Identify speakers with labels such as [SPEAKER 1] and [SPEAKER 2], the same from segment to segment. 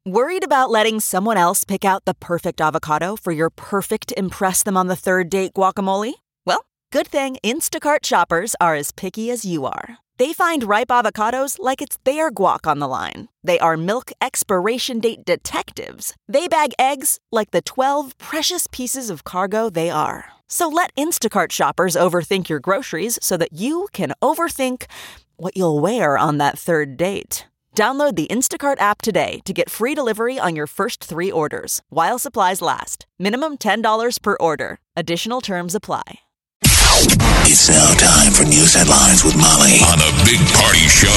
[SPEAKER 1] Worried about letting someone else pick out the perfect avocado for your perfect impress them on the third date guacamole? Well, good thing Instacart shoppers are as picky as you are. They find ripe avocados like it's their guac on the line. They are milk expiration date detectives. They bag eggs like the 12 precious pieces of cargo they are. So let Instacart shoppers overthink your groceries so that you can overthink what you'll wear on that third date. Download the Instacart app today to get free delivery on your first 3 orders, while supplies last. Minimum $10 per order. Additional terms apply.
[SPEAKER 2] It's now time for news headlines with Molly on a Big Party Show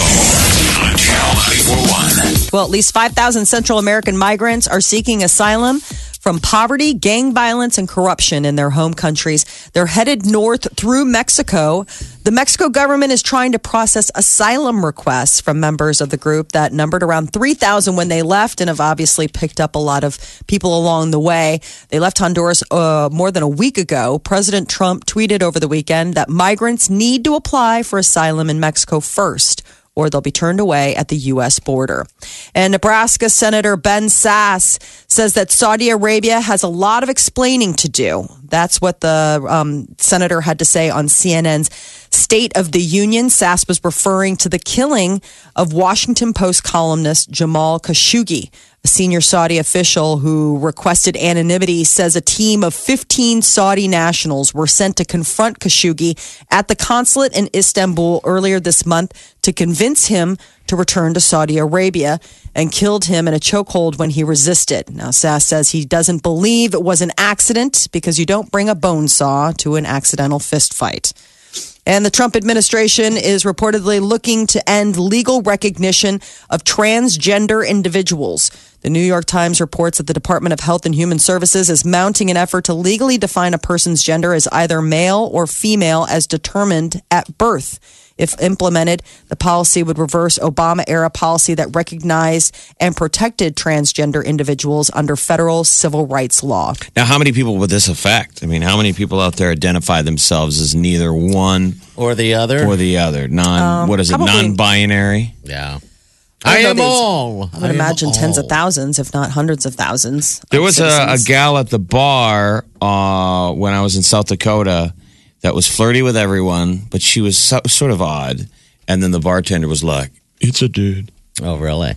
[SPEAKER 2] on Channel 94.1.
[SPEAKER 3] Well, at least 5,000 Central American migrants are seeking asylum from poverty, gang violence, and corruption in their home countries. They're headed north through Mexico. The Mexico government is trying to process asylum requests from members of the group that numbered around 3,000 when they left and have obviously picked up a lot of people along the way. They left Honduras more than a week ago. President Trump tweeted over the weekend that migrants need to apply for asylum in Mexico first, or they'll be turned away at the U.S. border. And Nebraska Senator Ben Sasse says that Saudi Arabia has a lot of explaining to do. That's what the senator had to say on CNN's State of the Union. Sasse was referring to the killing of Washington Post columnist Jamal Khashoggi. A senior Saudi official who requested anonymity says a team of 15 Saudi nationals were sent to confront Khashoggi at the consulate in Istanbul earlier this month to convince him to return to Saudi Arabia, and killed him in a chokehold when he resisted. Now, Sasse says he doesn't believe it was an accident because you don't bring a bone saw to an accidental fist fight. And the Trump administration is reportedly looking to end legal recognition of transgender individuals. The New York Times reports that the Department of Health and Human Services is mounting an effort to legally define a person's gender as either male or female as determined at birth. If implemented, the policy would reverse Obama-era policy that recognized and protected transgender individuals under federal civil rights law.
[SPEAKER 4] Now, how many people would this affect? I mean, how many people out there identify themselves as neither one
[SPEAKER 5] or the other?
[SPEAKER 4] What is it?
[SPEAKER 3] Probably,
[SPEAKER 4] non-binary?
[SPEAKER 5] Yeah. I am all.
[SPEAKER 3] I would imagine tens of thousands, if not hundreds of thousands.
[SPEAKER 4] There was a gal at the bar when I was in South Dakota that was flirty with everyone, but she was sort of odd. And then the bartender was like, "It's a dude."
[SPEAKER 5] Oh, really?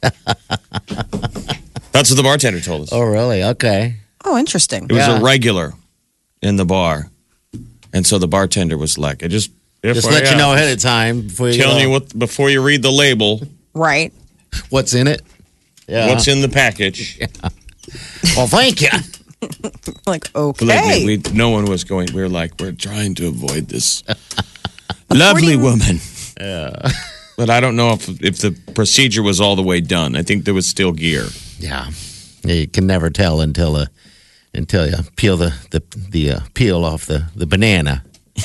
[SPEAKER 4] That's what the bartender told us.
[SPEAKER 5] Oh, really? Okay.
[SPEAKER 3] Oh, interesting.
[SPEAKER 4] It was a regular in the bar. And so the bartender was like, just
[SPEAKER 5] let you know ahead of time.
[SPEAKER 4] Telling you before you read the label.
[SPEAKER 3] Right.
[SPEAKER 5] What's in it?
[SPEAKER 4] Yeah. What's in the package.
[SPEAKER 5] Yeah. Well, thank you.
[SPEAKER 3] Like, okay.
[SPEAKER 4] Me, no one was going. We were like, we're trying to avoid this lovely woman.
[SPEAKER 5] Yeah.
[SPEAKER 4] But I don't know if the procedure was all the way done. I think there was still gear.
[SPEAKER 5] Yeah. You can never tell until you peel the peel off the banana.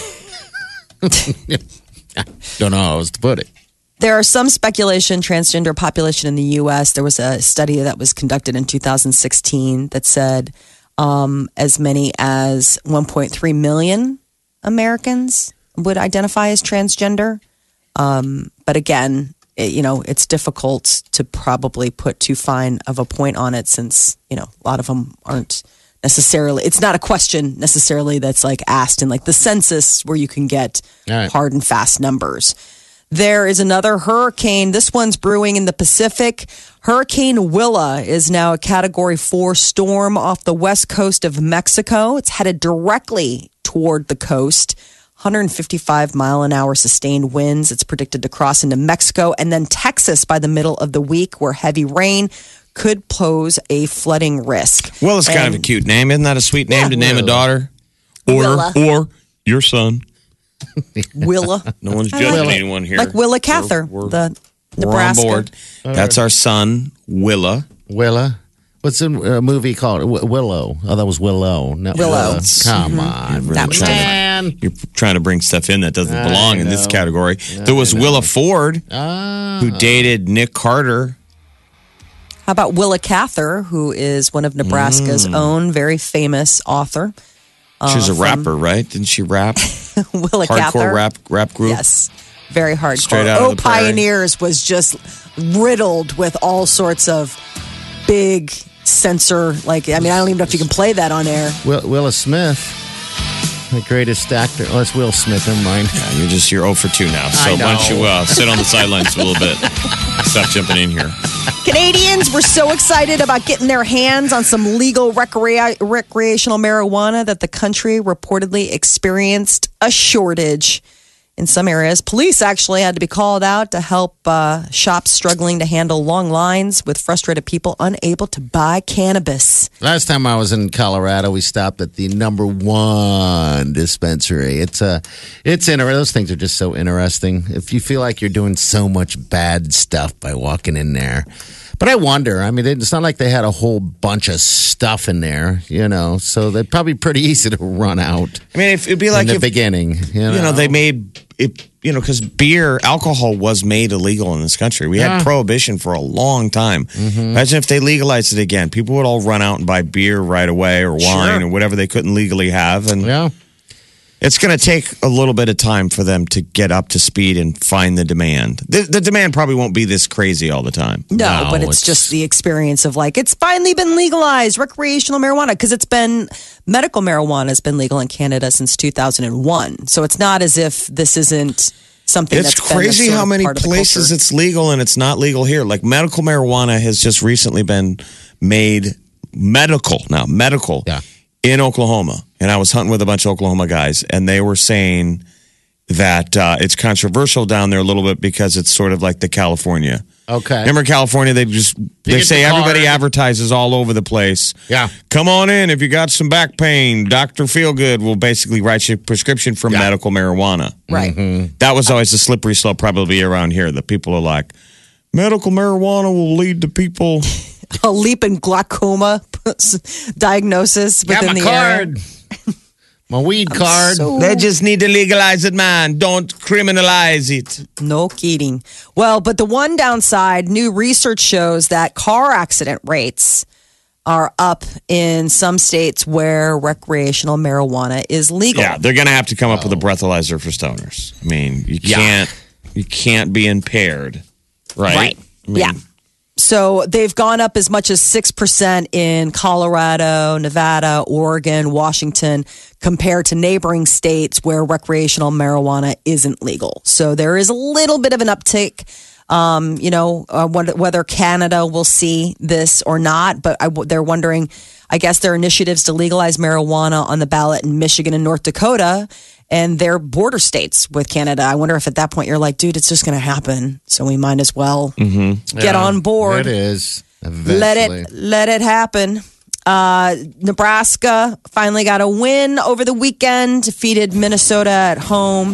[SPEAKER 5] Don't know how else to put it.
[SPEAKER 3] There are some speculation transgender population in the U.S. There was a study that was conducted in 2016 that said as many as 1.3 million Americans would identify as transgender. But again, it's difficult to probably put too fine of a point on it since, a lot of them aren't necessarily, it's not a question necessarily that's like asked in like the census where you can get hard and fast numbers. There is another hurricane. This one's brewing in the Pacific. Hurricane Willa is now a Category 4 storm off the west coast of Mexico. It's headed directly toward the coast. 155-mile-an-hour sustained winds. It's predicted to cross into Mexico and then Texas by the middle of the week, where heavy rain could pose a flooding risk.
[SPEAKER 4] Well, it's kind of a cute name. Isn't that a sweet name to name a daughter? Or your son.
[SPEAKER 3] Willa.
[SPEAKER 4] No one's judging anyone here.
[SPEAKER 3] Like Willa Cather, the Nebraska.
[SPEAKER 4] We're on board. That's our son, Willa.
[SPEAKER 5] Willa? What's the movie called? Willow. Oh, that was Willow. No,
[SPEAKER 3] Willow.
[SPEAKER 5] Come on.
[SPEAKER 4] You're trying to bring stuff in that doesn't belong in this category. There was Willa Ford, who dated Nick Carter.
[SPEAKER 3] How about Willa Cather, who is one of Nebraska's own very famous author?
[SPEAKER 4] She's a rapper, right? Didn't she rap?
[SPEAKER 3] Willa Cather.
[SPEAKER 4] Hardcore rap group?
[SPEAKER 3] Yes. Very hardcore.
[SPEAKER 4] Straight out of the prairie.
[SPEAKER 3] Pioneers was just riddled with all sorts of big censor. Like, I mean, I don't even know if you can play that on air.
[SPEAKER 5] Willa Smith, the greatest actor. Oh, it's Will Smith. Never mind.
[SPEAKER 4] Yeah, you're 0 for 2 now. So why don't you sit on the sidelines for a little bit? Stop jumping in here.
[SPEAKER 3] Canadians were so excited about getting their hands on some legal recreational marijuana that the country reportedly experienced a shortage. In some areas, police actually had to be called out to help shops struggling to handle long lines with frustrated people unable to buy cannabis.
[SPEAKER 5] Last time I was in Colorado, we stopped at the #1 dispensary. It's interesting. Those things are just so interesting. If you feel like you're doing so much bad stuff by walking in there. But I wonder, I mean, it's not like they had a whole bunch of stuff in there, so they're probably pretty easy to run out.
[SPEAKER 4] I mean, it'd be like
[SPEAKER 5] in the beginning,
[SPEAKER 4] they made it, because alcohol was made illegal in this country. We had prohibition for a long time. Imagine if they legalized it again. People would all run out and buy beer right away or wine or whatever they couldn't legally have. And it's going to take a little bit of time for them to get up to speed and find the demand. The demand probably won't be this crazy all the time.
[SPEAKER 3] No, but it's just the experience of it's finally been legalized, recreational marijuana, because medical marijuana has been legal in Canada since 2001. So it's not as if this isn't something
[SPEAKER 4] it's crazy how many places it's legal and it's not legal here. Like medical marijuana has just recently been made medical in Oklahoma. And I was hunting with a bunch of Oklahoma guys, and they were saying that it's controversial down there a little bit because it's sort of like the California.
[SPEAKER 5] Okay.
[SPEAKER 4] Remember California? They say everybody advertises all over the place.
[SPEAKER 5] Yeah.
[SPEAKER 4] Come on in if you got some back pain. Dr. Feelgood will basically write you a prescription for medical marijuana.
[SPEAKER 3] Right.
[SPEAKER 5] Mm-hmm.
[SPEAKER 4] That was always a slippery slope probably around here. The people are like, medical marijuana will lead to people...
[SPEAKER 3] a leap in glaucoma diagnosis within the
[SPEAKER 5] card. My weed card.
[SPEAKER 4] They just need to legalize it, man. Don't criminalize it.
[SPEAKER 3] No kidding. Well, but the one downside, new research shows that car accident rates are up in some states where recreational marijuana is legal.
[SPEAKER 4] Yeah, they're going to have to come up with a breathalyzer for stoners. I mean, you can't be impaired, right?
[SPEAKER 3] Right. Yeah. So they've gone up as much as 6% in Colorado, Nevada, Oregon, Washington, compared to neighboring states where recreational marijuana isn't legal. So there is a little bit of an uptick, whether Canada will see this or not. But they're wondering, I guess there are initiatives to legalize marijuana on the ballot in Michigan and North Dakota. And they're border states with Canada. I wonder if at that point you're like, dude, it's just going to happen. So we might as well get on board.
[SPEAKER 5] It is.
[SPEAKER 3] Let it happen. Nebraska finally got a win over the weekend. Defeated Minnesota at home,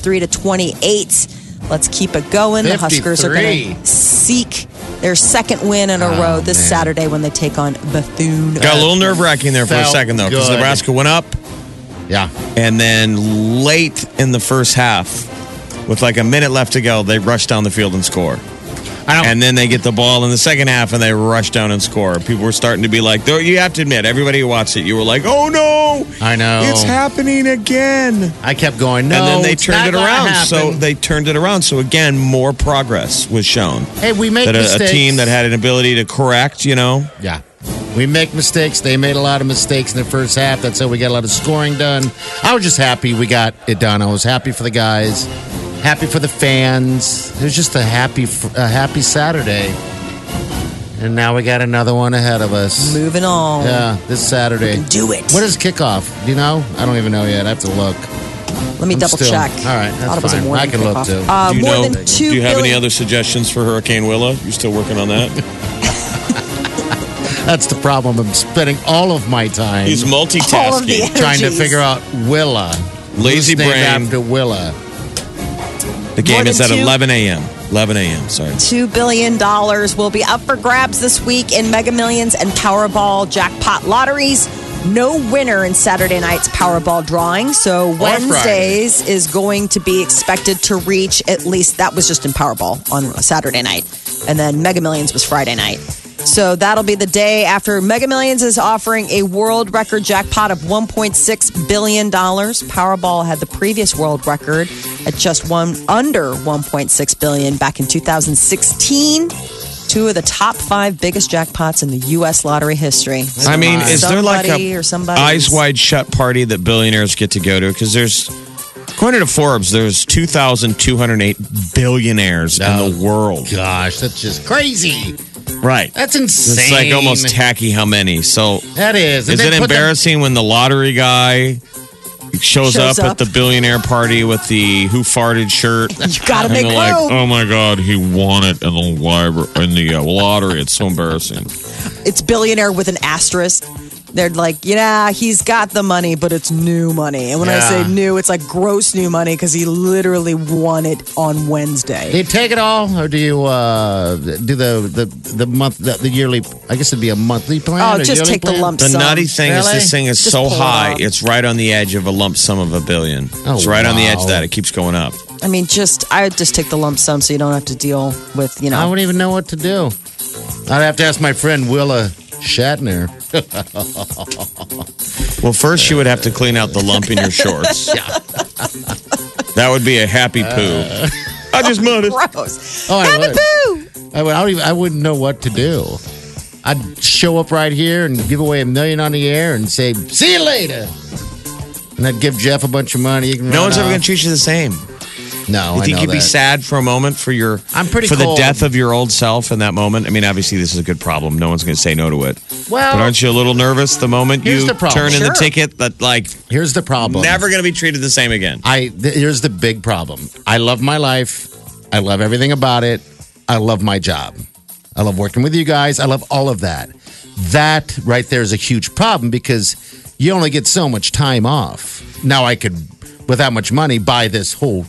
[SPEAKER 3] 53-28. Let's keep it going.
[SPEAKER 5] 53.
[SPEAKER 3] The Huskers are going to seek their second win in a row this Saturday when they take on Bethune.
[SPEAKER 4] Got a little nerve-wracking there for a second, though, because Nebraska went up.
[SPEAKER 5] Yeah.
[SPEAKER 4] And then late in the first half, with like a minute left to go, they rush down the field and score. And then they get the ball in the second half and they rush down and score. People were starting to be like, though you have to admit, everybody who watched it, you were like, oh no,
[SPEAKER 5] I know.
[SPEAKER 4] It's happening again.
[SPEAKER 5] I kept going, no.
[SPEAKER 4] And then they turned it around. So they turned it around. So again, more progress was shown.
[SPEAKER 5] Hey, we make mistakes.
[SPEAKER 4] A team that had an ability to correct,
[SPEAKER 5] Yeah. We make mistakes. They made a lot of mistakes in the first half. That's how we got a lot of scoring done. I was just happy we got it done. I was happy for the guys, happy for the fans. It was just a happy Saturday. And now we got another one ahead of us.
[SPEAKER 3] Moving on.
[SPEAKER 5] Yeah, this Saturday.
[SPEAKER 3] We can do it.
[SPEAKER 5] What is kickoff? Do you know? I don't even know yet. I have to look.
[SPEAKER 3] Let me double check.
[SPEAKER 5] All right, that's fine. I can look too.
[SPEAKER 4] Do you have any other suggestions for Hurricane Willa? You still working on that?
[SPEAKER 5] That's the problem. I'm spending all of my time.
[SPEAKER 4] He's multitasking.
[SPEAKER 5] Trying to figure out Willa.
[SPEAKER 4] Lazy brain.
[SPEAKER 5] After Willa.
[SPEAKER 4] The game is at 11 a.m. 11 a.m., sorry.
[SPEAKER 3] $2 billion will be up for grabs this week in Mega Millions and Powerball jackpot lotteries. No winner in Saturday night's Powerball drawing. So Wednesdays is going to be expected to reach at least, that was just in Powerball on a Saturday night. And then Mega Millions was Friday night. So that'll be the day after Mega Millions is offering a world record jackpot of $1.6 billion. Powerball had the previous world record at just under $1.6 billion back in 2016. Two of the top 5 biggest jackpots in the U.S. lottery history.
[SPEAKER 4] I mean, is there like
[SPEAKER 3] Somebody
[SPEAKER 4] a
[SPEAKER 3] or somebody's-
[SPEAKER 4] eyes wide shut party that billionaires get to go to? Because according to Forbes, there's 2,208 billionaires in the world.
[SPEAKER 5] Gosh, that's just crazy.
[SPEAKER 4] Right.
[SPEAKER 5] That's insane.
[SPEAKER 4] It's like almost tacky how many. So
[SPEAKER 5] That is. And
[SPEAKER 4] is
[SPEAKER 5] then
[SPEAKER 4] it
[SPEAKER 5] put them-
[SPEAKER 4] embarrassing when the lottery guy shows up at the billionaire party with the who farted shirt?
[SPEAKER 3] You gotta
[SPEAKER 4] And
[SPEAKER 3] make
[SPEAKER 4] they're
[SPEAKER 3] room.
[SPEAKER 4] like, oh my God, he won it in the lottery. It's so embarrassing.
[SPEAKER 3] It's billionaire with an asterisk. They're like, yeah, he's got the money, but it's new money. And when I say new, it's like gross new money because he literally won it on Wednesday.
[SPEAKER 5] Do you take it all, or do you do the month, the yearly? I guess it'd be a monthly plan.
[SPEAKER 3] Oh,
[SPEAKER 5] or
[SPEAKER 3] just
[SPEAKER 5] yearly
[SPEAKER 3] take the
[SPEAKER 5] plan?
[SPEAKER 3] lump
[SPEAKER 4] The
[SPEAKER 3] sum.
[SPEAKER 4] nutty thing is
[SPEAKER 5] Really?
[SPEAKER 4] this thing is
[SPEAKER 3] Just
[SPEAKER 4] so
[SPEAKER 3] pull it
[SPEAKER 4] high,
[SPEAKER 3] out.
[SPEAKER 4] it's right on the edge of a lump sum of $1 billion.
[SPEAKER 5] Oh,
[SPEAKER 4] It's right on the edge of
[SPEAKER 5] wow.
[SPEAKER 4] that. It keeps going up.
[SPEAKER 3] I mean, I would just take the lump sum so you don't have to deal with,
[SPEAKER 5] I wouldn't even know what to do. I'd have to ask my friend Willa Shatner.
[SPEAKER 4] Well, first you would have to clean out the lump in your shorts. That would be a happy poo. I just muttered.
[SPEAKER 3] gross.
[SPEAKER 5] Oh, I
[SPEAKER 3] Happy
[SPEAKER 5] would.
[SPEAKER 3] poo!
[SPEAKER 5] I wouldn't know what to do. I'd show up right here and give away $1 million on the air and say, "See you later." And I'd give Jeff a bunch of money. You can
[SPEAKER 4] No
[SPEAKER 5] run
[SPEAKER 4] one's ever
[SPEAKER 5] off.
[SPEAKER 4] going to treat you the same.
[SPEAKER 5] No,
[SPEAKER 4] You
[SPEAKER 5] I
[SPEAKER 4] think
[SPEAKER 5] know
[SPEAKER 4] you'd be
[SPEAKER 5] that.
[SPEAKER 4] sad for a moment for
[SPEAKER 5] I'm pretty
[SPEAKER 4] for
[SPEAKER 5] cold.
[SPEAKER 4] the death of your old self in that moment? I mean, obviously this is a good problem. No one's going to say no to it.
[SPEAKER 5] Well,
[SPEAKER 4] But aren't you a little nervous the moment
[SPEAKER 5] Here's
[SPEAKER 4] you
[SPEAKER 5] the problem.
[SPEAKER 4] turn in the
[SPEAKER 3] Sure.
[SPEAKER 4] ticket that like
[SPEAKER 5] here's the problem.
[SPEAKER 4] never going to be treated the same again?
[SPEAKER 5] Here's the big problem. I love my life. I love everything about it. I love my job. I love working with you guys. I love all of that. That right there is a huge problem because you only get so much time off. Now I could, with that much money, buy this whole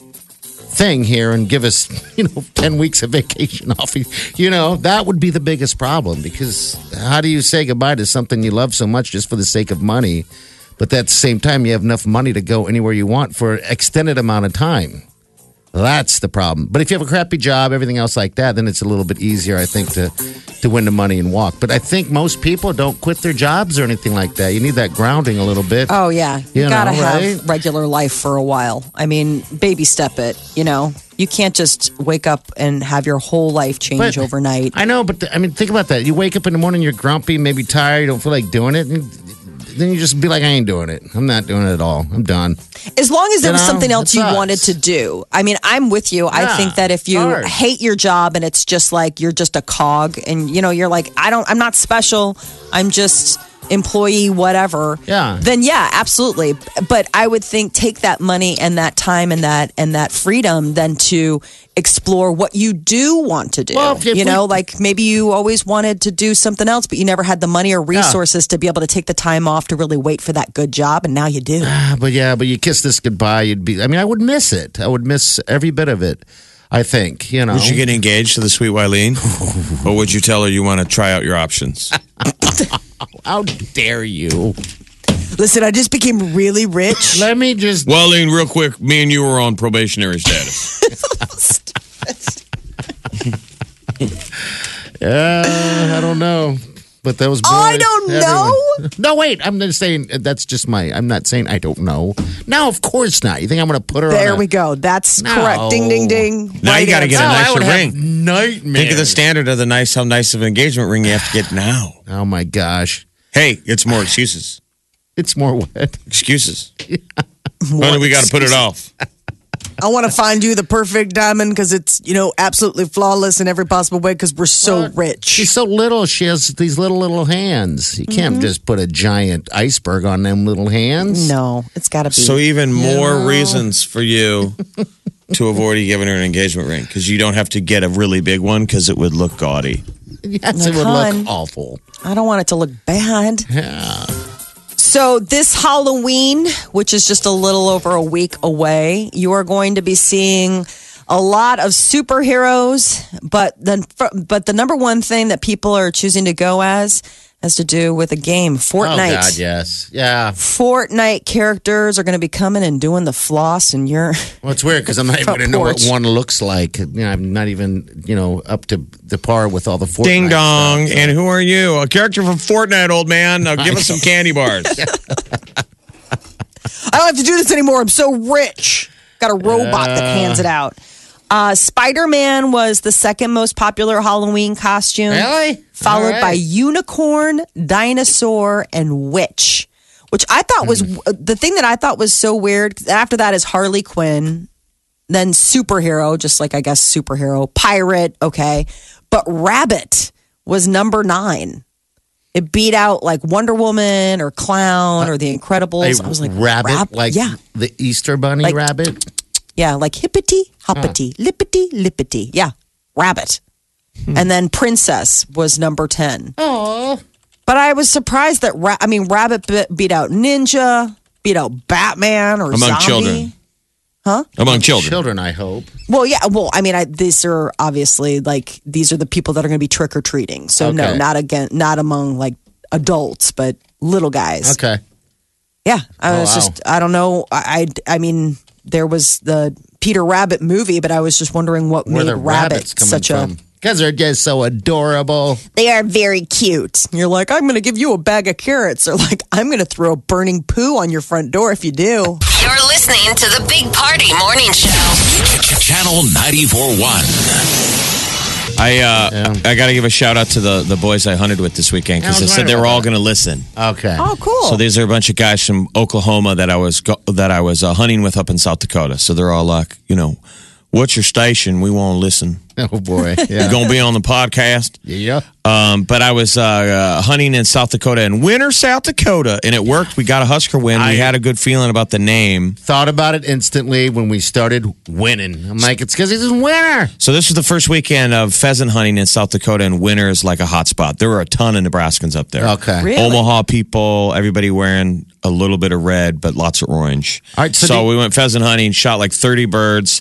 [SPEAKER 5] thing here and give us, 10 weeks of vacation off. That would be the biggest problem because how do you say goodbye to something you love so much just for the sake of money? But at the same time, you have enough money to go anywhere you want for an extended amount of time. That's the problem. But if you have a crappy job, everything else like that, then it's a little bit easier, I think, to win the money and walk. But I think most people don't quit their jobs or anything like that. You need that grounding a little bit.
[SPEAKER 3] Oh, yeah. You gotta
[SPEAKER 5] right?
[SPEAKER 3] have regular life for a while. I mean, baby step it, You can't just wake up and have your whole life change
[SPEAKER 5] But-
[SPEAKER 3] overnight.
[SPEAKER 5] I know, but think about that. You wake up in the morning, you're grumpy, maybe tired, you don't feel like doing it. And then you just be like, I ain't doing it. I'm not doing it at all. I'm done.
[SPEAKER 3] As long as there was
[SPEAKER 5] know,
[SPEAKER 3] something else
[SPEAKER 5] it
[SPEAKER 3] you
[SPEAKER 5] sucks.
[SPEAKER 3] wanted to do. I mean, I'm with you. I
[SPEAKER 5] Yeah,
[SPEAKER 3] think that if you
[SPEAKER 5] hard.
[SPEAKER 3] hate your job and it's just like you're just a cog and you're like, I'm not special. I'm just employee, whatever.
[SPEAKER 5] Yeah.
[SPEAKER 3] Then yeah, absolutely. But I would think take that money and that time and that freedom then to explore what you do want to do.
[SPEAKER 5] Well, if we-
[SPEAKER 3] like maybe you always wanted to do something else, but you never had the money or resources to be able to take the time off to really wait for that good job, and now you do.
[SPEAKER 5] But you kiss this goodbye, I would miss it. I would miss every bit of it, I think,
[SPEAKER 4] Would you get engaged to the sweet Wileen? Or would you tell her you want to try out your options?
[SPEAKER 5] How dare you?
[SPEAKER 3] Listen, I just became really rich.
[SPEAKER 5] Let me just.
[SPEAKER 4] Wileen, real quick, me and you were on probationary status.
[SPEAKER 5] I don't know. But those boys.
[SPEAKER 3] I don't know.
[SPEAKER 5] No, wait. I'm just saying that's just I'm not saying I don't know. No, of course not. You think I'm going to put her
[SPEAKER 3] There
[SPEAKER 5] on
[SPEAKER 3] we go. That's
[SPEAKER 5] No.
[SPEAKER 3] correct. Ding, ding, ding.
[SPEAKER 4] Now you
[SPEAKER 3] Right
[SPEAKER 4] gotta get
[SPEAKER 3] answer.
[SPEAKER 4] a
[SPEAKER 5] I
[SPEAKER 4] nicer
[SPEAKER 5] would
[SPEAKER 4] ring.
[SPEAKER 5] have nightmares.
[SPEAKER 4] Think of the standard of how nice of an engagement ring you have to get now.
[SPEAKER 5] Oh, my gosh.
[SPEAKER 4] Hey, it's more excuses.
[SPEAKER 5] It's more wet.
[SPEAKER 4] Excuses. Honey, we got to put it off.
[SPEAKER 3] I want to find you the perfect diamond because it's, absolutely flawless in every possible way because we're so rich.
[SPEAKER 5] She's so little. She has these little hands. You can't just put a giant iceberg on them little hands.
[SPEAKER 3] No, it's got to be.
[SPEAKER 4] So even more reasons for you to avoid giving her an engagement ring because you don't have to get a really big one because it would look gaudy.
[SPEAKER 5] Yes, it would
[SPEAKER 3] Hon.
[SPEAKER 5] look awful.
[SPEAKER 3] I don't want it to look bad.
[SPEAKER 5] Yeah.
[SPEAKER 3] So this Halloween, which is just a little over a week away, you are going to be seeing a lot of superheroes. But the number one thing that people are choosing to go as has to do with a game, Fortnite.
[SPEAKER 5] Oh, God, yes. Yeah.
[SPEAKER 3] Fortnite characters are going to be coming and doing the floss, and you're
[SPEAKER 5] Well, it's weird because I'm not even
[SPEAKER 3] Front
[SPEAKER 5] going to know what
[SPEAKER 3] porch.
[SPEAKER 5] one looks like. I'm not even, up to the par with all the Fortnite
[SPEAKER 4] Ding dong.
[SPEAKER 5] stuff.
[SPEAKER 4] And who are you? A character from Fortnite, old man. Now give us some candy bars.
[SPEAKER 3] I don't have to do this anymore. I'm so rich. Got a robot that hands it out. Spider-Man was the second most popular Halloween costume.
[SPEAKER 5] Really?
[SPEAKER 3] Followed by unicorn, dinosaur, and witch. Which I thought was the thing that I thought was so weird. After that is Harley Quinn, then superhero, just like I guess superhero, pirate, okay. But rabbit was number 9. It beat out like Wonder Woman or Clown or The Incredibles. I was like,
[SPEAKER 5] rabbit, like the Easter Bunny
[SPEAKER 3] Like-
[SPEAKER 5] rabbit.
[SPEAKER 3] Yeah, like hippity, hoppity, lippity, lippity. Yeah, rabbit. And then princess was number 10.
[SPEAKER 5] Oh,
[SPEAKER 3] But I was surprised that rabbit beat out ninja, beat out Batman or
[SPEAKER 4] Among
[SPEAKER 3] zombie.
[SPEAKER 4] children. Among children.
[SPEAKER 5] children, I hope.
[SPEAKER 3] Well, yeah. Well, I mean, these are obviously like these are the people that are going to be trick or treating. So no,
[SPEAKER 5] Okay.
[SPEAKER 3] not among like adults, but little guys.
[SPEAKER 5] Okay.
[SPEAKER 3] Yeah, I was
[SPEAKER 5] wow.
[SPEAKER 3] just I don't know. I mean, there was the Peter Rabbit movie, but I was just wondering what
[SPEAKER 5] Where
[SPEAKER 3] made
[SPEAKER 5] the
[SPEAKER 3] rabbit
[SPEAKER 5] rabbits coming
[SPEAKER 3] such
[SPEAKER 5] from? Because they're just so adorable.
[SPEAKER 3] They are very cute. You're like, I'm going to give you a bag of carrots, or like, I'm going to throw a burning poo on your front door if you do.
[SPEAKER 6] You're listening to the Big Party Morning Show.
[SPEAKER 2] Channel 94.1.
[SPEAKER 4] I got to give a shout out to the boys I hunted with this weekend because
[SPEAKER 5] I
[SPEAKER 4] they
[SPEAKER 5] was
[SPEAKER 4] said they
[SPEAKER 5] wondering
[SPEAKER 4] were all
[SPEAKER 5] about
[SPEAKER 4] going to listen.
[SPEAKER 5] Okay.
[SPEAKER 3] Oh, cool.
[SPEAKER 4] So these are a bunch of guys from Oklahoma that I was hunting with up in South Dakota. So they're all like, what's your station? We want to listen.
[SPEAKER 5] Oh, boy.
[SPEAKER 4] You're
[SPEAKER 5] Yeah.
[SPEAKER 4] going to be on the podcast.
[SPEAKER 5] Yeah.
[SPEAKER 4] But I was hunting in South Dakota, in Winter, South Dakota, and it worked. We got a Husker win. We had a good feeling about the name.
[SPEAKER 5] Thought about it instantly when we started winning. I'm like, it's because he's a winner.
[SPEAKER 4] So this was the first weekend of pheasant hunting in South Dakota, and winter is like a hot spot. There were a ton of Nebraskans up there.
[SPEAKER 5] Okay.
[SPEAKER 3] Really?
[SPEAKER 4] Omaha people, everybody wearing a little bit of red, but lots of orange.
[SPEAKER 5] All right, so
[SPEAKER 4] so
[SPEAKER 5] do-
[SPEAKER 4] we went pheasant hunting, shot like 30 birds.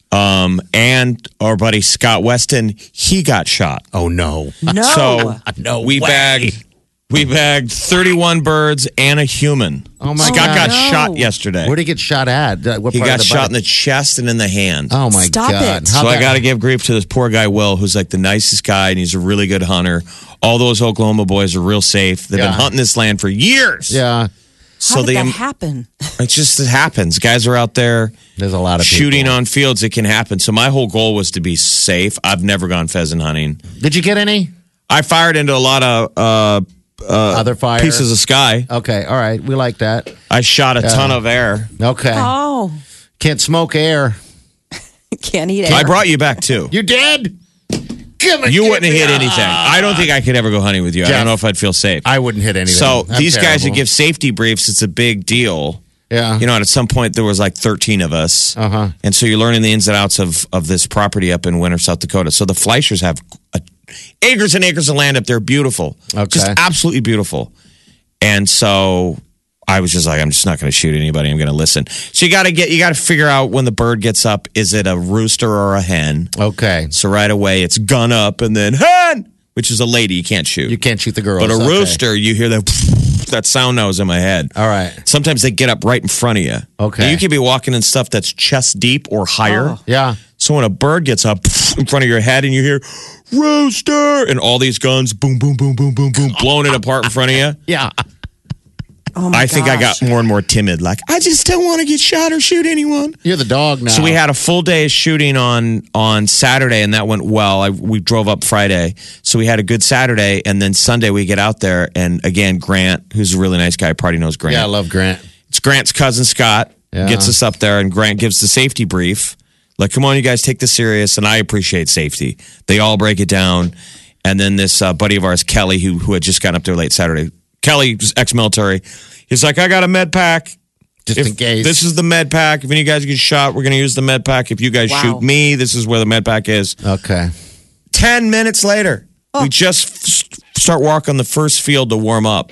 [SPEAKER 4] And our buddy Scott Weston, he got shot.
[SPEAKER 5] Oh, no.
[SPEAKER 3] No.
[SPEAKER 4] So
[SPEAKER 5] No
[SPEAKER 4] we
[SPEAKER 5] way.
[SPEAKER 4] bagged 31 birds and a human.
[SPEAKER 5] Oh, my
[SPEAKER 4] Scott
[SPEAKER 5] God.
[SPEAKER 4] got
[SPEAKER 3] No.
[SPEAKER 4] shot yesterday.
[SPEAKER 5] Where'd he get shot at? What
[SPEAKER 4] He
[SPEAKER 5] part of
[SPEAKER 4] got
[SPEAKER 5] the
[SPEAKER 4] shot in
[SPEAKER 5] body?
[SPEAKER 4] the chest and in the hand.
[SPEAKER 5] Oh, my
[SPEAKER 3] Stop
[SPEAKER 5] God.
[SPEAKER 3] it.
[SPEAKER 4] So I got to give grief to this poor guy, Will, who's like the nicest guy, and he's a really good hunter. All those Oklahoma boys are real safe. They've
[SPEAKER 5] Yeah.
[SPEAKER 4] been hunting this land for years.
[SPEAKER 5] Yeah.
[SPEAKER 3] How did that happen?
[SPEAKER 4] It happens. Guys are out there
[SPEAKER 5] There's a lot of
[SPEAKER 4] shooting
[SPEAKER 5] people.
[SPEAKER 4] on fields. It can happen. So my whole goal was to be safe. I've never gone pheasant hunting.
[SPEAKER 5] Did you get any
[SPEAKER 4] I fired into a lot of
[SPEAKER 5] other fire?
[SPEAKER 4] pieces of sky.
[SPEAKER 5] Okay. All right. We like that.
[SPEAKER 4] I shot a ton of air.
[SPEAKER 5] Okay.
[SPEAKER 3] Oh,
[SPEAKER 5] Can't smoke air.
[SPEAKER 3] can't eat it.
[SPEAKER 4] I brought you back too.
[SPEAKER 5] You did?
[SPEAKER 4] You wouldn't have hit anything. I don't think I could ever go hunting with you. I
[SPEAKER 5] Jeff,
[SPEAKER 4] don't know if I'd feel safe.
[SPEAKER 5] I wouldn't hit anything.
[SPEAKER 4] So
[SPEAKER 5] I'm
[SPEAKER 4] these guys that
[SPEAKER 5] terrible.
[SPEAKER 4] give safety briefs, it's a big deal.
[SPEAKER 5] Yeah.
[SPEAKER 4] You know, and at some point there was like 13 of us.
[SPEAKER 5] Uh-huh.
[SPEAKER 4] And so you're learning the ins and outs of this property up in Winter, South Dakota. So the Fleischers have acres and acres of land up there. Beautiful.
[SPEAKER 5] Okay.
[SPEAKER 4] Just absolutely beautiful. And so I was just like, I'm just not going to shoot anybody. I'm going to listen. So you got to figure out when the bird gets up, is it a rooster or a hen?
[SPEAKER 5] Okay.
[SPEAKER 4] So right away it's gun up and then hen, which is a lady. You can't shoot.
[SPEAKER 5] You can't shoot the girls.
[SPEAKER 4] But a
[SPEAKER 5] Okay.
[SPEAKER 4] rooster, you hear that sound nose in my head.
[SPEAKER 5] All right.
[SPEAKER 4] Sometimes they get up right in front of you.
[SPEAKER 5] Okay.
[SPEAKER 4] And you could be walking in stuff that's chest deep or higher.
[SPEAKER 5] Yeah.
[SPEAKER 4] So when a bird gets up in front of your head and you hear rooster and all these guns boom, boom, boom, boom, boom, boom, blowing it apart in front of you.
[SPEAKER 5] Yeah.
[SPEAKER 3] Oh my
[SPEAKER 4] I think I got
[SPEAKER 3] gosh.
[SPEAKER 4] more and more timid. Like, I just don't want to get shot or shoot anyone.
[SPEAKER 5] You're the dog now.
[SPEAKER 4] So we had a full day of shooting on Saturday, and that went well. We drove up Friday, so we had a good Saturday, and then Sunday we get out there, and again, Grant, who's a really nice guy, Party knows Grant.
[SPEAKER 5] Yeah, I love Grant.
[SPEAKER 4] It's Grant's cousin Scott
[SPEAKER 5] Yeah.
[SPEAKER 4] gets us up there, and Grant gives the safety brief. Like, come on, you guys, take this serious, and I appreciate safety. They all break it down, and then this buddy of ours, Kelly, who had just gotten up there late Saturday. Kelly was ex-military. He's like, I got a med pack.
[SPEAKER 5] Just
[SPEAKER 4] If
[SPEAKER 5] in case.
[SPEAKER 4] This is the med pack. If any of you guys get shot, we're going to use the med pack. If you guys
[SPEAKER 3] Wow.
[SPEAKER 4] shoot me, this is where the med pack is.
[SPEAKER 5] Okay.
[SPEAKER 4] 10 minutes later, we just start walking the first field to warm up,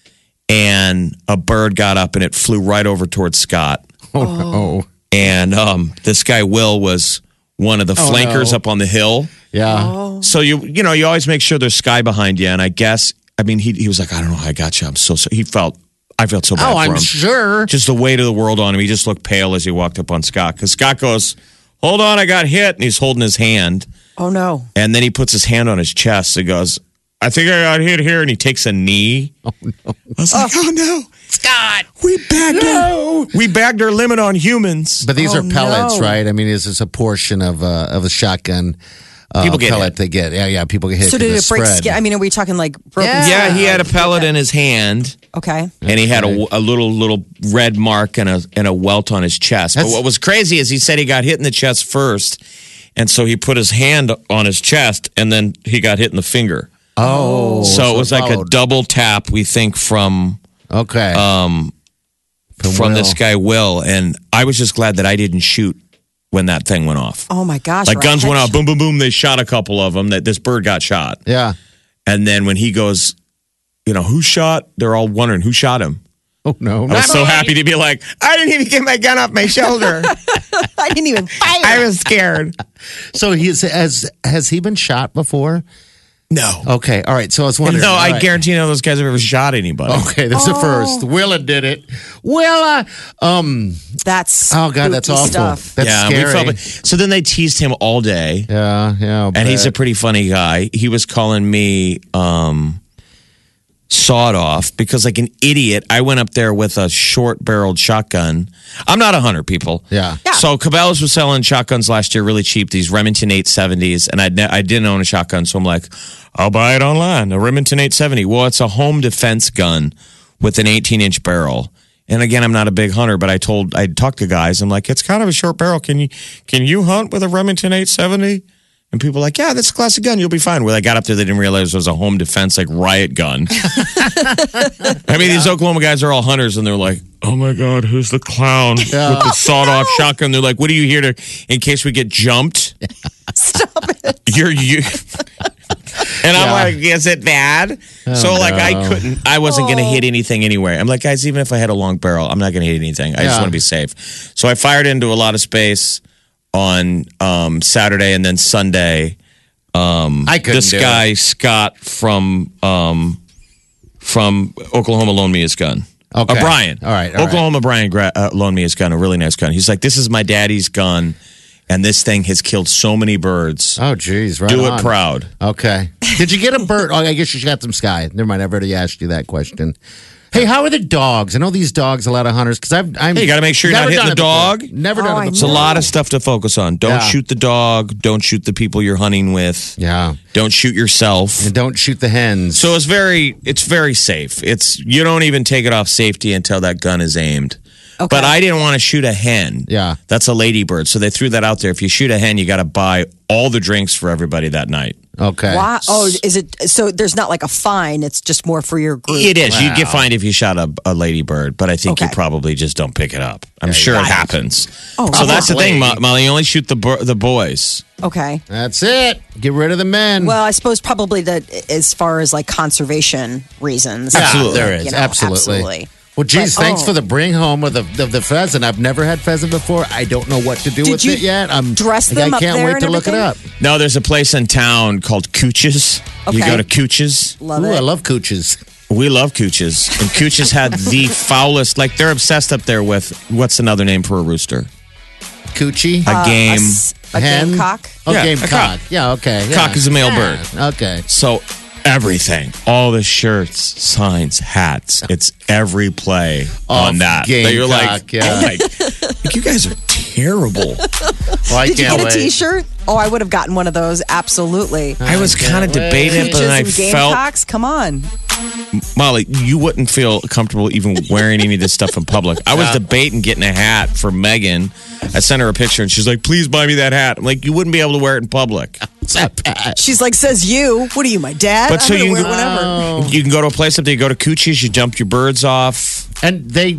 [SPEAKER 4] and a bird got up and it flew right over towards Scott.
[SPEAKER 5] Oh, no.
[SPEAKER 4] And this guy, Will, was one of the flankers
[SPEAKER 5] no.
[SPEAKER 4] up on the hill.
[SPEAKER 5] Yeah.
[SPEAKER 4] So you always make sure there's sky behind you. And I guess, I mean, he was like, I don't know how I got you. I felt so bad
[SPEAKER 5] Oh,
[SPEAKER 4] for
[SPEAKER 5] I'm
[SPEAKER 4] him.
[SPEAKER 5] sure.
[SPEAKER 4] Just the weight of the world on him. He just looked pale as he walked up on Scott. Because Scott goes, hold on, I got hit. And he's holding his hand.
[SPEAKER 3] Oh no.
[SPEAKER 4] And then he puts his hand on his chest and goes, I think I got hit here. And he takes a knee. Oh, no. I was like, oh, no.
[SPEAKER 5] Scott.
[SPEAKER 4] We bagged our limit on humans.
[SPEAKER 5] But these are pellets,
[SPEAKER 3] no.
[SPEAKER 5] right? I mean, this is a portion of a shotgun.
[SPEAKER 4] People get
[SPEAKER 5] pellet
[SPEAKER 4] hit.
[SPEAKER 5] they get. Yeah, people get hit.
[SPEAKER 3] So did
[SPEAKER 5] the
[SPEAKER 3] it break
[SPEAKER 5] spread.
[SPEAKER 3] skin? I mean, are we talking like broken
[SPEAKER 4] Yeah,
[SPEAKER 3] skin?
[SPEAKER 4] he had a pellet in his hand,
[SPEAKER 3] Okay.
[SPEAKER 4] and he had a little red mark and a welt on his chest. But what was crazy is he said he got hit in the chest first, and so he put his hand on his chest, and then he got hit in the finger.
[SPEAKER 5] Oh.
[SPEAKER 4] So it was like a
[SPEAKER 5] followed.
[SPEAKER 4] double tap, we think, from
[SPEAKER 5] Okay.
[SPEAKER 4] from this
[SPEAKER 5] Will.
[SPEAKER 4] guy Will, and I was just glad that I didn't shoot when that thing went off.
[SPEAKER 3] Oh my gosh.
[SPEAKER 4] Like
[SPEAKER 3] right.
[SPEAKER 4] guns went off, boom, boom, boom. They shot a couple of them. That this bird got shot,
[SPEAKER 5] Yeah.
[SPEAKER 4] and then when he goes, who shot? They're all wondering who shot him.
[SPEAKER 5] Oh, no.
[SPEAKER 4] I was so happy to be like, I didn't even get my gun off my shoulder.
[SPEAKER 3] I didn't even fire.
[SPEAKER 4] I was scared.
[SPEAKER 5] So has he been shot before?
[SPEAKER 4] No.
[SPEAKER 5] Okay. All right. So I was wondering.
[SPEAKER 4] No,
[SPEAKER 5] all
[SPEAKER 4] I
[SPEAKER 5] right.
[SPEAKER 4] guarantee none of those guys have ever shot anybody.
[SPEAKER 5] Okay, that's the first. Willa did it. Willa.
[SPEAKER 3] That's
[SPEAKER 5] Oh God, that's
[SPEAKER 3] spooky
[SPEAKER 5] awful.
[SPEAKER 3] stuff.
[SPEAKER 5] That's
[SPEAKER 4] yeah,
[SPEAKER 5] scary.
[SPEAKER 4] we felt so then they teased him all day.
[SPEAKER 5] Yeah.
[SPEAKER 4] And he's a pretty funny guy. He was calling me sawed off because, like an idiot, I went up there with a short barreled shotgun. I'm not a hunter, people.
[SPEAKER 5] Yeah.
[SPEAKER 4] So Cabela's was selling shotguns last year really cheap, these Remington 870s, and I didn't own a shotgun, so I'm like, I'll buy it online, a Remington 870. Well, it's a home defense gun with an 18-inch barrel. And again, I'm not a big hunter, but I talked to guys. I'm like, it's kind of a short barrel. Can you hunt with a Remington 870? And people were like, yeah, that's a classic gun. You'll be fine. When I got up there, they didn't realize it was a home defense, like riot gun. I mean, these Oklahoma guys are all hunters, and they're like, oh my God, who's the clown with the sawed off shotgun? They're like, what are you here to, in case we get jumped?
[SPEAKER 3] Stop it.
[SPEAKER 4] You. And I'm like, is it bad? So like I wasn't going to hit anything anyway. I'm like, guys, even if I had a long barrel, I'm not going to hit anything. I just want to be safe. So I fired into a lot of space on Saturday and then Sunday.
[SPEAKER 5] I couldn't
[SPEAKER 4] This
[SPEAKER 5] do
[SPEAKER 4] guy,
[SPEAKER 5] it.
[SPEAKER 4] Scott from Oklahoma loaned me his gun.
[SPEAKER 5] Okay.
[SPEAKER 4] Brian.
[SPEAKER 5] All right.
[SPEAKER 4] Oklahoma Brian loaned me his gun, a really nice gun. He's like, this is my daddy's gun, and this thing has killed so many birds.
[SPEAKER 5] Oh, geez. Right
[SPEAKER 4] Do
[SPEAKER 5] on.
[SPEAKER 4] it proud.
[SPEAKER 5] Okay. Did you get a bird? Oh, I guess you got some sky. Never mind. I've already asked you that question. Hey, how are the dogs? I know these dogs, a lot of hunters, because I'm.
[SPEAKER 4] Hey, you got to make sure you're not hitting the dog.
[SPEAKER 5] Never
[SPEAKER 3] Oh,
[SPEAKER 5] done
[SPEAKER 3] I
[SPEAKER 5] it
[SPEAKER 4] It's
[SPEAKER 5] before.
[SPEAKER 4] a lot of stuff to focus on. Don't
[SPEAKER 5] Yeah.
[SPEAKER 4] shoot the dog. Don't shoot the people you're hunting with.
[SPEAKER 5] Yeah.
[SPEAKER 4] Don't shoot yourself.
[SPEAKER 5] And don't shoot the hens.
[SPEAKER 4] So it's very safe. You don't even take it off safety until that gun is aimed.
[SPEAKER 3] Okay.
[SPEAKER 4] But I didn't want to shoot a hen.
[SPEAKER 5] Yeah.
[SPEAKER 4] That's a ladybird. So they threw that out there. If you shoot a hen, you got to buy all the drinks for everybody that night.
[SPEAKER 5] Okay.
[SPEAKER 3] Wow. Oh, is it? So there's not like a fine. It's just more for your group.
[SPEAKER 4] It is. You'd get fined if you shot a ladybird, but I think you
[SPEAKER 3] Okay.
[SPEAKER 4] probably just don't pick it up. I'm sure it happens.
[SPEAKER 3] Oh,
[SPEAKER 4] so that's the thing,
[SPEAKER 5] probably.
[SPEAKER 4] Molly. You only shoot the boys.
[SPEAKER 3] Okay.
[SPEAKER 5] That's it. Get rid of the men.
[SPEAKER 3] Well, I suppose probably that as far as like conservation reasons.
[SPEAKER 5] Yeah,
[SPEAKER 4] Absolutely.
[SPEAKER 5] there is.
[SPEAKER 3] You know,
[SPEAKER 5] absolutely. Well, geez,
[SPEAKER 3] But,
[SPEAKER 5] thanks
[SPEAKER 3] oh.
[SPEAKER 5] for the bring home of the pheasant. I've never had pheasant before. I don't know what to do
[SPEAKER 3] Did
[SPEAKER 5] with
[SPEAKER 3] you
[SPEAKER 5] it yet.
[SPEAKER 3] dress them
[SPEAKER 5] I
[SPEAKER 3] up
[SPEAKER 5] can't
[SPEAKER 3] there
[SPEAKER 5] wait
[SPEAKER 3] and
[SPEAKER 5] to look it up.
[SPEAKER 3] everything?
[SPEAKER 4] No, there's a place in town called Cooch's. You
[SPEAKER 3] Okay.
[SPEAKER 4] go to Cooch's.
[SPEAKER 3] Love
[SPEAKER 5] Ooh,
[SPEAKER 3] it.
[SPEAKER 5] I love cooches.
[SPEAKER 4] We love Cooch's. And Cooch's had the foulest, like they're obsessed up there with, what's another name for a rooster?
[SPEAKER 5] Coochie.
[SPEAKER 4] A game.
[SPEAKER 3] A
[SPEAKER 5] Hen?
[SPEAKER 3] gamecock.
[SPEAKER 5] Oh,
[SPEAKER 4] Yeah,
[SPEAKER 5] game
[SPEAKER 4] a
[SPEAKER 5] cock.
[SPEAKER 4] cock.
[SPEAKER 5] Yeah, okay. Yeah.
[SPEAKER 4] Cock is a male bird.
[SPEAKER 5] Okay.
[SPEAKER 4] So everything, all the shirts, signs, hats, it's every play on that.
[SPEAKER 5] Gamecock,
[SPEAKER 4] That you're like,
[SPEAKER 5] yeah.
[SPEAKER 4] oh my, like, you guys are terrible.
[SPEAKER 5] Well, I
[SPEAKER 3] Did you
[SPEAKER 5] can't
[SPEAKER 3] get a
[SPEAKER 5] wait.
[SPEAKER 3] T-shirt? Oh, I would have gotten one of those. Absolutely.
[SPEAKER 4] I was kind of debating, but
[SPEAKER 3] Peaches
[SPEAKER 4] then I
[SPEAKER 3] and
[SPEAKER 4] felt,
[SPEAKER 3] gamecocks. Come on.
[SPEAKER 4] Molly, you wouldn't feel comfortable even wearing any of this stuff in public. I was debating getting a hat for Megan. I sent her a picture and she's like, please buy me that hat. I'm like, you wouldn't be able to wear it in public.
[SPEAKER 5] It's not bad.
[SPEAKER 3] She's like, says you. What are you, my dad?
[SPEAKER 4] But so
[SPEAKER 3] I'm gonna
[SPEAKER 4] you
[SPEAKER 3] wear
[SPEAKER 4] can,
[SPEAKER 3] whatever.
[SPEAKER 4] you can go to a place up there, you go to Coochie's, you jump your birds off.
[SPEAKER 5] And they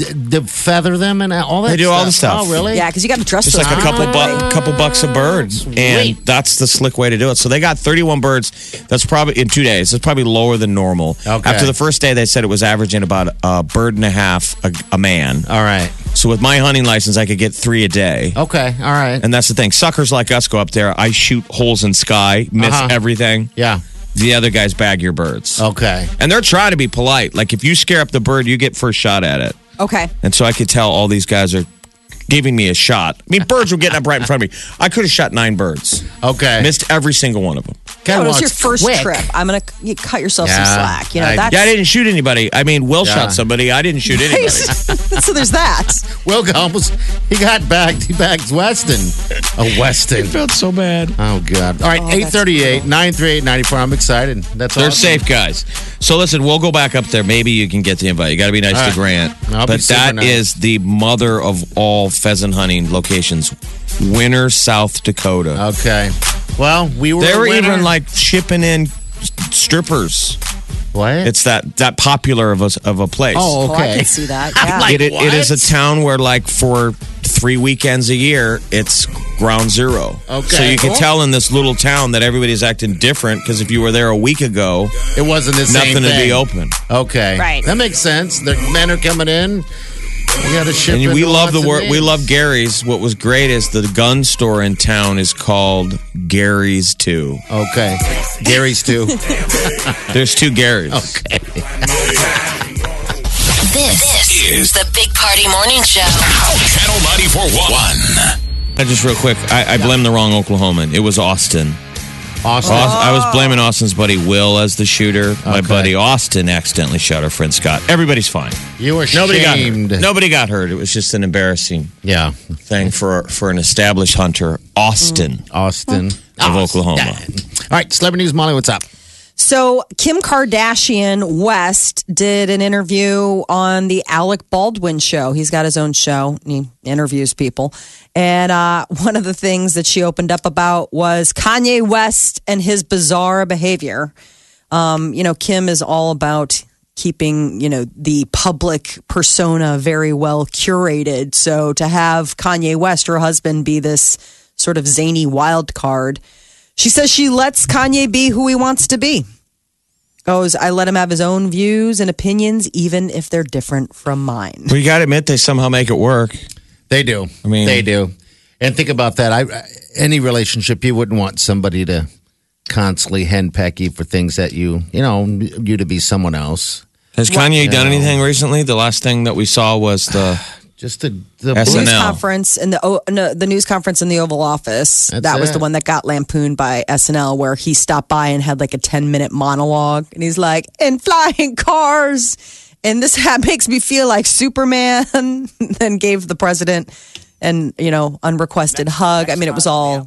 [SPEAKER 5] feather them and all that.
[SPEAKER 4] They do all the stuff.
[SPEAKER 5] Oh, really?
[SPEAKER 3] Yeah, because you got to dress
[SPEAKER 4] Just
[SPEAKER 3] those
[SPEAKER 4] like a
[SPEAKER 3] up.
[SPEAKER 4] couple bucks a bird. And that's the slick way to do it. So they got 31 birds. That's probably in 2 days. That's probably lower than normal.
[SPEAKER 5] Okay.
[SPEAKER 4] After the first day, they said it was averaging about a bird and a half a man.
[SPEAKER 5] All right.
[SPEAKER 4] So with my hunting license, I could get 3 a day.
[SPEAKER 5] Okay. All right.
[SPEAKER 4] And that's the thing. Suckers like us go up there. I shoot holes in sky, miss everything.
[SPEAKER 5] Yeah.
[SPEAKER 4] The other guys bag your birds.
[SPEAKER 5] Okay.
[SPEAKER 4] And they're trying to be polite. Like if you scare up the bird, you get first shot at it.
[SPEAKER 3] Okay.
[SPEAKER 4] And so I could tell all these guys are giving me a shot. I mean, birds were getting up right in front of me. I could have shot 9 birds.
[SPEAKER 5] Okay.
[SPEAKER 4] Missed every single one of them.
[SPEAKER 5] Guy
[SPEAKER 3] it was
[SPEAKER 5] wants
[SPEAKER 3] your first
[SPEAKER 5] quick.
[SPEAKER 3] trip. I'm gonna you cut yourself some
[SPEAKER 5] Yeah.
[SPEAKER 3] slack. You know
[SPEAKER 5] I-
[SPEAKER 3] that's
[SPEAKER 4] Yeah, I didn't shoot anybody. I mean, Will
[SPEAKER 5] Yeah.
[SPEAKER 4] shot somebody. I didn't shoot anybody.
[SPEAKER 3] so there's that.
[SPEAKER 5] Will almost he got bagged. He bagged Weston. A Weston.
[SPEAKER 4] Felt so bad.
[SPEAKER 5] Oh God! All right, 838-938-94. I'm excited. That's
[SPEAKER 4] They're
[SPEAKER 5] awesome.
[SPEAKER 4] safe guys. So listen, we'll go back up there. Maybe you can get the invite. You got to be nice
[SPEAKER 5] All
[SPEAKER 4] to
[SPEAKER 5] right.
[SPEAKER 4] Grant.
[SPEAKER 5] I'll be
[SPEAKER 4] But
[SPEAKER 5] super
[SPEAKER 4] that
[SPEAKER 5] nice.
[SPEAKER 4] is the mother of all pheasant hunting locations. Winter, South Dakota.
[SPEAKER 5] Okay. Well, we were.
[SPEAKER 4] They
[SPEAKER 5] a
[SPEAKER 4] were
[SPEAKER 5] winner.
[SPEAKER 4] even like shipping in strippers.
[SPEAKER 5] what?
[SPEAKER 4] It's that popular of a place.
[SPEAKER 5] Oh,
[SPEAKER 3] Oh, I
[SPEAKER 5] okay.
[SPEAKER 3] can see that. Yeah.
[SPEAKER 5] like-
[SPEAKER 4] It is a
[SPEAKER 5] what?
[SPEAKER 4] town where, like, for 3 weekends a year, it's ground zero.
[SPEAKER 5] Okay.
[SPEAKER 4] So you can
[SPEAKER 5] Cool.
[SPEAKER 4] tell in this little town that everybody's acting different because if you were there a week ago,
[SPEAKER 5] It wasn't the same
[SPEAKER 4] nothing to
[SPEAKER 5] thing.
[SPEAKER 4] be open.
[SPEAKER 5] Okay.
[SPEAKER 3] Right.
[SPEAKER 5] That makes sense. The men are coming in. We got to ship.
[SPEAKER 4] And we
[SPEAKER 5] into
[SPEAKER 4] love the
[SPEAKER 5] lots of
[SPEAKER 4] word. We
[SPEAKER 5] names.
[SPEAKER 4] love Gary's. What was great is the gun store in town is called Gary's too.
[SPEAKER 5] Okay. Gary's too.
[SPEAKER 4] There's 2 Garys.
[SPEAKER 5] Okay.
[SPEAKER 6] This is the Big Party Morning Show.
[SPEAKER 2] Channel 94.1.
[SPEAKER 4] Just real quick, I blamed the wrong Oklahoman. It was Austin.
[SPEAKER 5] Austin.
[SPEAKER 4] I was blaming Austin's buddy Will as the shooter. My
[SPEAKER 5] Okay.
[SPEAKER 4] buddy Austin accidentally shot our friend Scott. Everybody's fine.
[SPEAKER 5] You were
[SPEAKER 4] Nobody got
[SPEAKER 5] shamed.
[SPEAKER 4] hurt. Nobody got hurt. It was just an embarrassing
[SPEAKER 5] Yeah.
[SPEAKER 4] thing for an established hunter, Austin
[SPEAKER 5] Austin.
[SPEAKER 4] of Oklahoma.
[SPEAKER 5] All right. Celebrity News, Molly, what's up?
[SPEAKER 3] So Kim Kardashian West did an interview on the Alec Baldwin show. He's got his own show. And he interviews people. And one of the things that she opened up about was Kanye West and his bizarre behavior. Kim is all about keeping, the public persona very well curated. So to have Kanye West, her husband, be this sort of zany wild card, she says she lets Kanye be who he wants to be. Goes, I let him have his own views and opinions, even if they're different from mine.
[SPEAKER 4] Well, you got to admit, they somehow make it work.
[SPEAKER 5] They do.
[SPEAKER 4] I mean-
[SPEAKER 5] they do. And think about that. Any relationship, you wouldn't want somebody to constantly henpeck you for things that you to be someone else.
[SPEAKER 4] Has Kanye done anything recently? The last thing that we saw was the
[SPEAKER 5] Just the
[SPEAKER 4] SNL.
[SPEAKER 3] News conference in the news conference in the Oval Office.
[SPEAKER 5] That's
[SPEAKER 3] that was
[SPEAKER 5] it.
[SPEAKER 3] the one that got lampooned by SNL, where he stopped by and had like a 10-minute monologue, and he's like, "In flying cars," and this makes me feel like Superman. Then gave the president an unrequested hug. I mean, it was all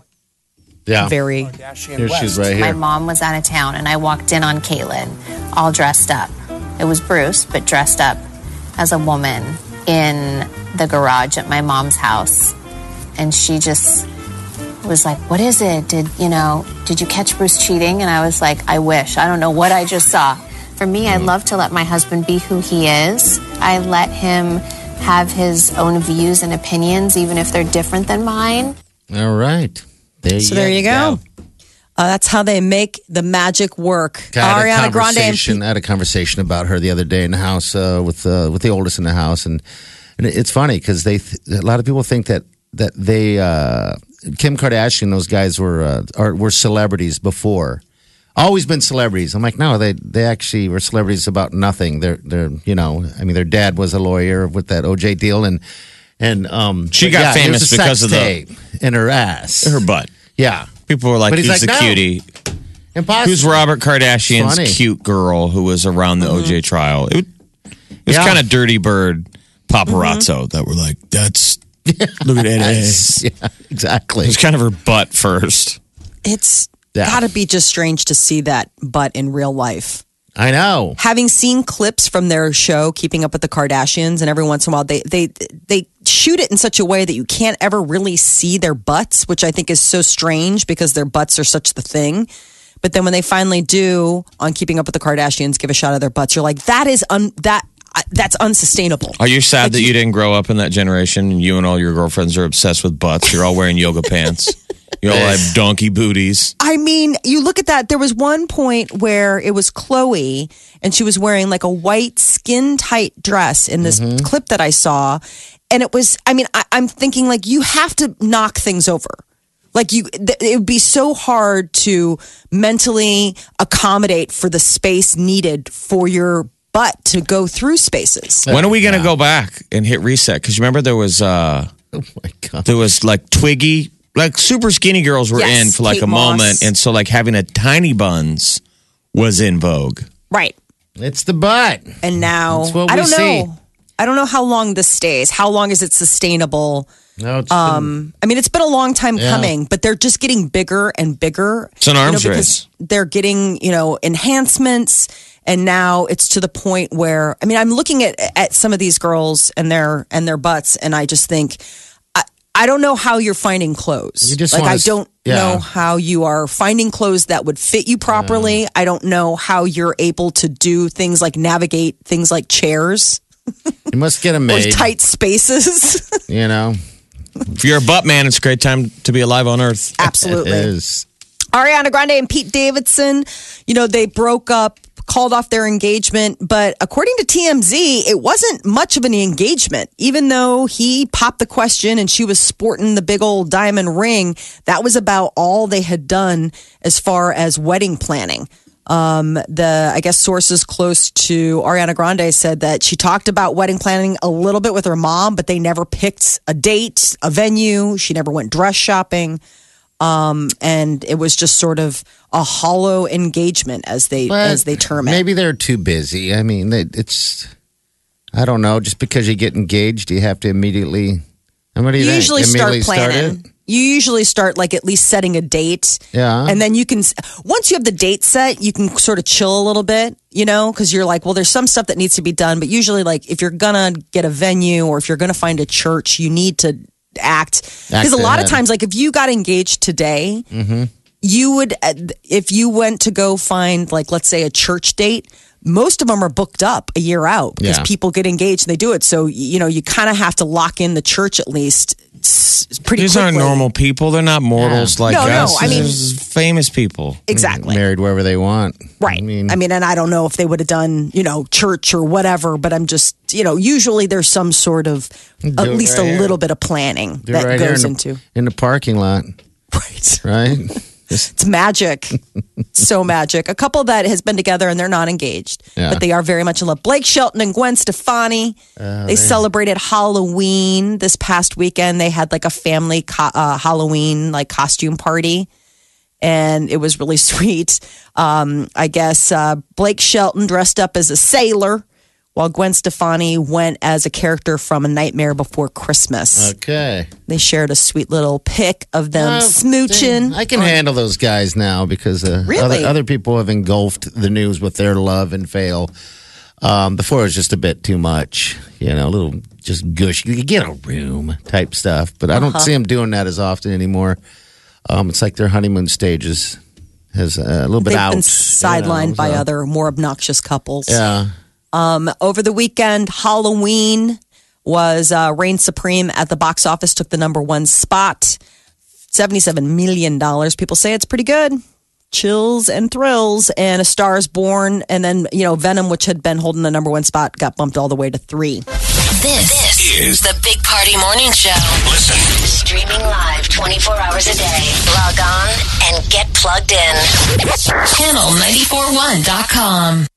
[SPEAKER 3] very.
[SPEAKER 5] Here she's right
[SPEAKER 7] My
[SPEAKER 5] here.
[SPEAKER 7] mom was out of town and I walked in on Caitlin all dressed up. It was Bruce, but dressed up as a woman in the garage at my mom's house. And she just was like, "What is it? Did you catch Bruce cheating?" And I was like, "I wish. I don't know what I just saw." For me, I love to let my husband be who he is. I let him have his own views and opinions, even if they're different than mine.
[SPEAKER 5] All right.
[SPEAKER 3] So there you go. That's how they make the magic work. Ariana Grande.
[SPEAKER 5] I had a conversation about her the other day in the house with the oldest in the house, and it's funny because a lot of people think that they Kim Kardashian, those guys were celebrities before, always been celebrities. I'm like, no, they actually were celebrities about nothing. They're their dad was a lawyer with that OJ deal, and
[SPEAKER 4] She got famous because of
[SPEAKER 5] tape in her ass,
[SPEAKER 4] her butt.
[SPEAKER 5] Yeah.
[SPEAKER 4] People were like,
[SPEAKER 5] But
[SPEAKER 4] "Who's
[SPEAKER 5] he's
[SPEAKER 4] the
[SPEAKER 5] like, no.
[SPEAKER 4] cutie?
[SPEAKER 5] Impossible.
[SPEAKER 4] Who's Robert Kardashian's
[SPEAKER 5] Funny.
[SPEAKER 4] cute girl who was around the OJ trial?" It was
[SPEAKER 5] Yeah.
[SPEAKER 4] kind of dirty bird paparazzo that were like, "That's look at that ass."
[SPEAKER 5] Yeah, exactly.
[SPEAKER 4] It was kind of her butt first.
[SPEAKER 3] It's
[SPEAKER 5] Yeah.
[SPEAKER 3] got to be just strange to see that butt in real life.
[SPEAKER 5] I know.
[SPEAKER 3] Having seen clips from their show, Keeping Up with the Kardashians, and every once in a while they shoot it in such a way that you can't ever really see their butts, which I think is so strange because their butts are such the thing. But then when they finally do on Keeping Up with the Kardashians, give a shot of their butts, you're like, that's unsustainable.
[SPEAKER 4] Are you sad that you didn't grow up in that generation and you and all your girlfriends are obsessed with butts? You're all wearing yoga pants. You all have donkey booties.
[SPEAKER 3] I mean, you look at that. There was one point where it was Chloe and she was wearing like a white skin tight dress in this clip that I saw. And it was, I'm thinking like you have to knock things over. Like it would be so hard to mentally accommodate for the space needed for your butt to go through spaces.
[SPEAKER 4] When are we going to go back and hit reset? Because remember there was
[SPEAKER 5] Oh my God.
[SPEAKER 4] like Twiggy like super skinny girls were
[SPEAKER 3] Yes,
[SPEAKER 4] in for like
[SPEAKER 3] Kate
[SPEAKER 4] a
[SPEAKER 3] Moss.
[SPEAKER 4] moment. And so like having a tiny buns was in vogue.
[SPEAKER 3] Right.
[SPEAKER 5] It's the butt.
[SPEAKER 3] And now,
[SPEAKER 5] That's what
[SPEAKER 3] I
[SPEAKER 5] we
[SPEAKER 3] don't
[SPEAKER 5] see.
[SPEAKER 3] know. I don't know how long this stays. How long is it sustainable?
[SPEAKER 5] No, it's
[SPEAKER 3] I mean, it's been a long time
[SPEAKER 5] Yeah.
[SPEAKER 3] coming, but they're just getting bigger and bigger.
[SPEAKER 4] It's an arms
[SPEAKER 3] because
[SPEAKER 4] race.
[SPEAKER 3] They're getting, enhancements. And now it's to the point where, I mean, I'm looking at some of these girls and their butts, and I just think, I don't know how you're finding clothes.
[SPEAKER 5] You just
[SPEAKER 3] like,
[SPEAKER 5] wanna
[SPEAKER 3] I don't
[SPEAKER 5] yeah.
[SPEAKER 3] know how you are finding clothes that would fit you properly. I don't know how you're able to do things like navigate things like chairs
[SPEAKER 5] you must get them
[SPEAKER 3] or
[SPEAKER 5] made.
[SPEAKER 3] tight spaces.
[SPEAKER 5] You know,
[SPEAKER 4] If you're a butt man, it's a great time to be alive on Earth.
[SPEAKER 3] Absolutely.
[SPEAKER 5] it is.
[SPEAKER 3] Ariana Grande and Pete Davidson, they broke up, called off their engagement. But according to TMZ, it wasn't much of an engagement. Even though he popped the question and she was sporting the big old diamond ring, that was about all they had done as far as wedding planning. I guess sources close to Ariana Grande said that she talked about wedding planning a little bit with her mom, but they never picked a date, a venue. She never went dress shopping. And it was just sort of a hollow engagement as they term it.
[SPEAKER 5] Maybe they're too busy. I mean, I don't know. Just because you get engaged, you have to immediately. And what do you
[SPEAKER 3] You
[SPEAKER 5] think?
[SPEAKER 3] usually start
[SPEAKER 5] Immediately
[SPEAKER 3] planning.
[SPEAKER 5] it?
[SPEAKER 3] You usually start like at least setting a date.
[SPEAKER 5] Yeah.
[SPEAKER 3] And then you can, once you have the date set, you can sort of chill a little bit, because you're like, well, there's some stuff that needs to be done. But usually, like, if you're going to get a venue or if you're going to find a church, you need to act. Because a lot of
[SPEAKER 5] ahead.
[SPEAKER 3] times, like, if you got engaged today, you would, if you went to go find, like, let's say a church date, most of them are booked up a year out because
[SPEAKER 5] Yeah.
[SPEAKER 3] people get engaged and they do it. So, you kind of have to lock in the church at least pretty
[SPEAKER 4] These
[SPEAKER 3] quickly.
[SPEAKER 4] aren't normal people. They're not mortals like
[SPEAKER 3] No,
[SPEAKER 4] us.
[SPEAKER 3] I mean-
[SPEAKER 4] This is famous people.
[SPEAKER 3] Exactly.
[SPEAKER 5] Married wherever they want.
[SPEAKER 3] Right.
[SPEAKER 5] I mean,
[SPEAKER 3] and I don't know if they would have done, church or whatever, but I'm just, usually there's some sort of,
[SPEAKER 5] Do
[SPEAKER 3] at
[SPEAKER 5] it
[SPEAKER 3] least
[SPEAKER 5] right
[SPEAKER 3] a
[SPEAKER 5] here.
[SPEAKER 3] little bit of planning
[SPEAKER 5] do it
[SPEAKER 3] that
[SPEAKER 5] right here
[SPEAKER 3] goes
[SPEAKER 5] in
[SPEAKER 3] into.
[SPEAKER 5] in the parking lot,
[SPEAKER 3] Right.
[SPEAKER 5] right?
[SPEAKER 3] It's magic. So magic. A couple that has been together and they're not engaged,
[SPEAKER 5] Yeah.
[SPEAKER 3] but they are very much in love. Blake Shelton and Gwen Stefani. They celebrated Halloween this past weekend. They had like a family Halloween like costume party. And it was really sweet. I guess Blake Shelton dressed up as a sailor, while Gwen Stefani went as a character from A Nightmare Before Christmas.
[SPEAKER 5] Okay.
[SPEAKER 3] They shared a sweet little pic of them smooching.
[SPEAKER 5] I can handle those guys now because
[SPEAKER 3] Really?
[SPEAKER 5] other people have engulfed the news with their love and fail. Before it was just a bit too much, a little just gush. You could get a room type stuff, but I don't see them doing that as often anymore. It's like their honeymoon stages has a little bit
[SPEAKER 3] They've
[SPEAKER 5] out.
[SPEAKER 3] been sidelined by
[SPEAKER 5] so-
[SPEAKER 3] other more obnoxious couples.
[SPEAKER 5] Yeah.
[SPEAKER 3] Over the weekend, Halloween was reigned supreme at the box office, took the number one spot, $77 million. People say it's pretty good. Chills and thrills, and A Star is Born, and then Venom, which had been holding the number one spot, got bumped all the way to 3.
[SPEAKER 6] This is the Big Party Morning Show.
[SPEAKER 2] Listen.
[SPEAKER 6] Streaming live 24 hours a day. Log on and get plugged in. Channel941.com.